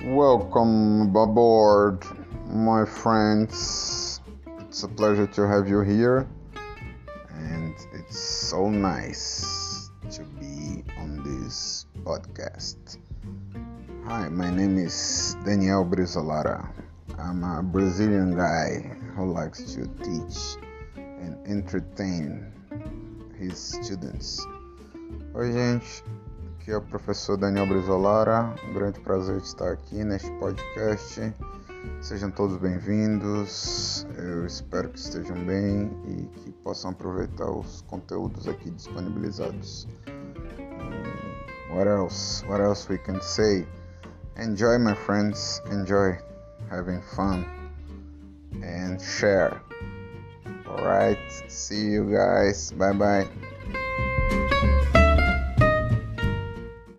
Welcome aboard, my friends. It's a pleasure to have you here, and it's so nice to be on this podcast. Hi, my name is Daniel Brizolara. I'm a Brazilian guy who likes to teach and entertain his students. Oi, gente. Aqui é o professor Daniel Brizolara, um grande prazer de estar aqui neste podcast. Sejam todos bem-vindos, eu espero que estejam bem e que possam aproveitar os conteúdos aqui disponibilizados. What else we can say? Enjoy, my friends, enjoy having fun and share. Alright, see you guys, bye bye.